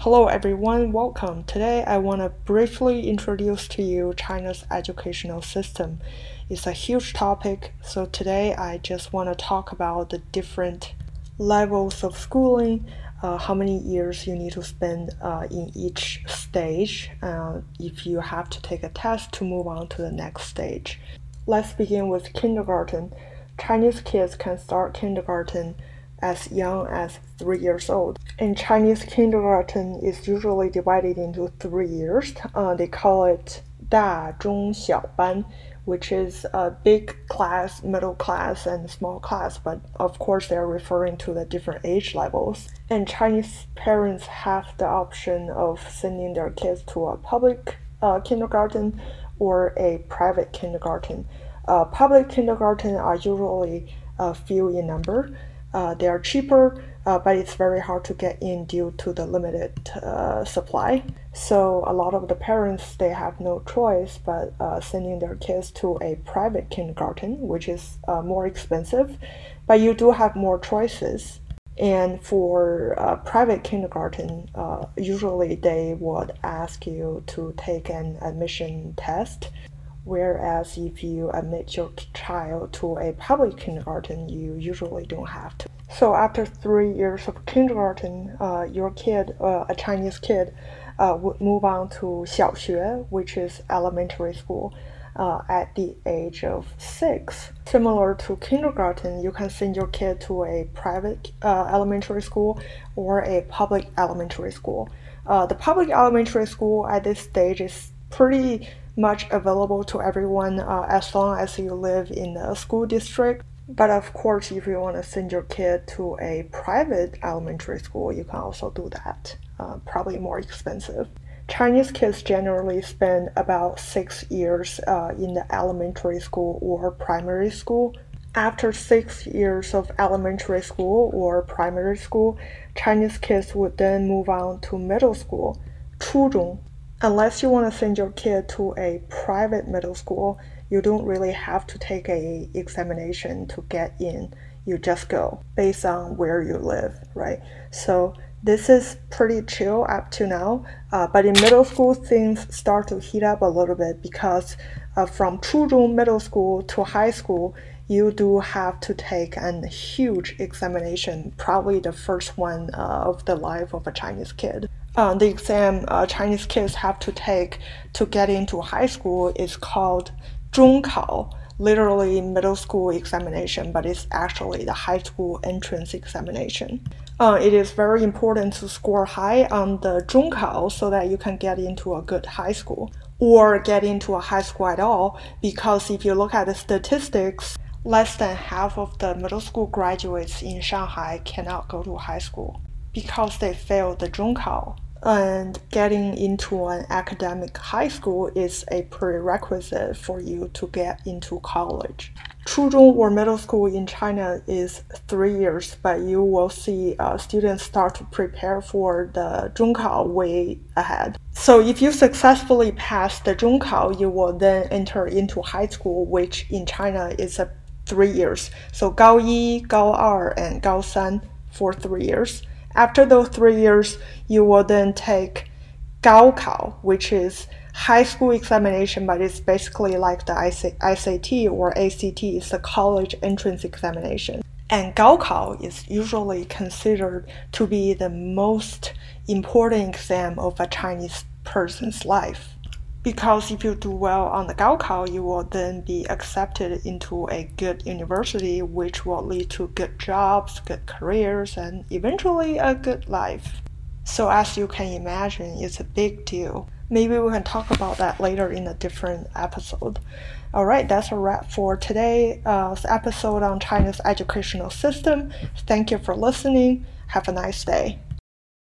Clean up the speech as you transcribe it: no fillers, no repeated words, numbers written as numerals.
Hello everyone, welcome. Today I want to briefly introduce to you China's educational system. It's a huge topic, so today I just want to talk about the different levels of schooling, how many years you need to spend in each stage if you have to take a test to move on to the next stage. Let's begin with kindergarten. Chinese kids can start kindergarten as young as 3 years old. And Chinese kindergarten is usually divided into 3 years. They call it 大中小班, which is a big class, middle class, and small class, but of course they're referring to the different age levels. And Chinese parents have the option of sending their kids to a public kindergarten or a private kindergarten. Public kindergarten are usually few in number. They are cheaper, but it's very hard to get in due to the limited supply. So a lot of the parents, they have no choice but sending their kids to a private kindergarten, which is more expensive, but you do have more choices. And for private kindergarten, usually they would ask you to take an admission test. Whereas if you admit your child to a public kindergarten, you usually don't have to. So after 3 years of kindergarten, your kid, a Chinese kid, would move on to 小学, which is elementary school, at the age of 6. Similar to kindergarten, you can send your kid to a private elementary school or a public elementary school. The public elementary school at this stage is pretty much available to everyone as long as you live in a school district. But of course, if you want to send your kid to a private elementary school, you can also do that. Probably more expensive. Chinese kids generally spend about 6 years in the elementary school or primary school. After 6 years of elementary school or primary school, Chinese kids would then move on to middle school, 初中. Unless you want to send your kid to a private middle school, you don't really have to take a examination to get in. You just go based on where you live, right? So this is pretty chill up to now. But in middle school, things start to heat up a little bit because from 初中 middle school to high school, you do have to take a huge examination, probably the first one of the life of a Chinese kid. The exam Chinese kids have to take to get into high school is called 中考, literally middle school examination, but it's actually the high school entrance examination. It is very important to score high on the 中考 so that you can get into a good high school or get into a high school at all, because if you look at the statistics, less than half of the middle school graduates in Shanghai cannot go to high school because they failed the 中考. And getting into an academic high school is a prerequisite for you to get into college. 初中 or middle school in China is 3 years, but you will see students start to prepare for the 中考 way ahead. So if you successfully pass the 中考, you will then enter into high school, which in China is 3 years. So 高一, 高二, and 高三 for 3 years. After those 3 years, you will then take 高考, which is high school examination, but it's basically like the SAT or ACT. It's the college entrance examination. And 高考 is usually considered to be the most important exam of a Chinese person's life. Because if you do well on the 高考, you will then be accepted into a good university, which will lead to good jobs, good careers, and eventually a good life. So as you can imagine, it's a big deal. Maybe we can talk about that later in a different episode. Alright, that's a wrap for today's episode on China's educational system. Thank you for listening. Have a nice day.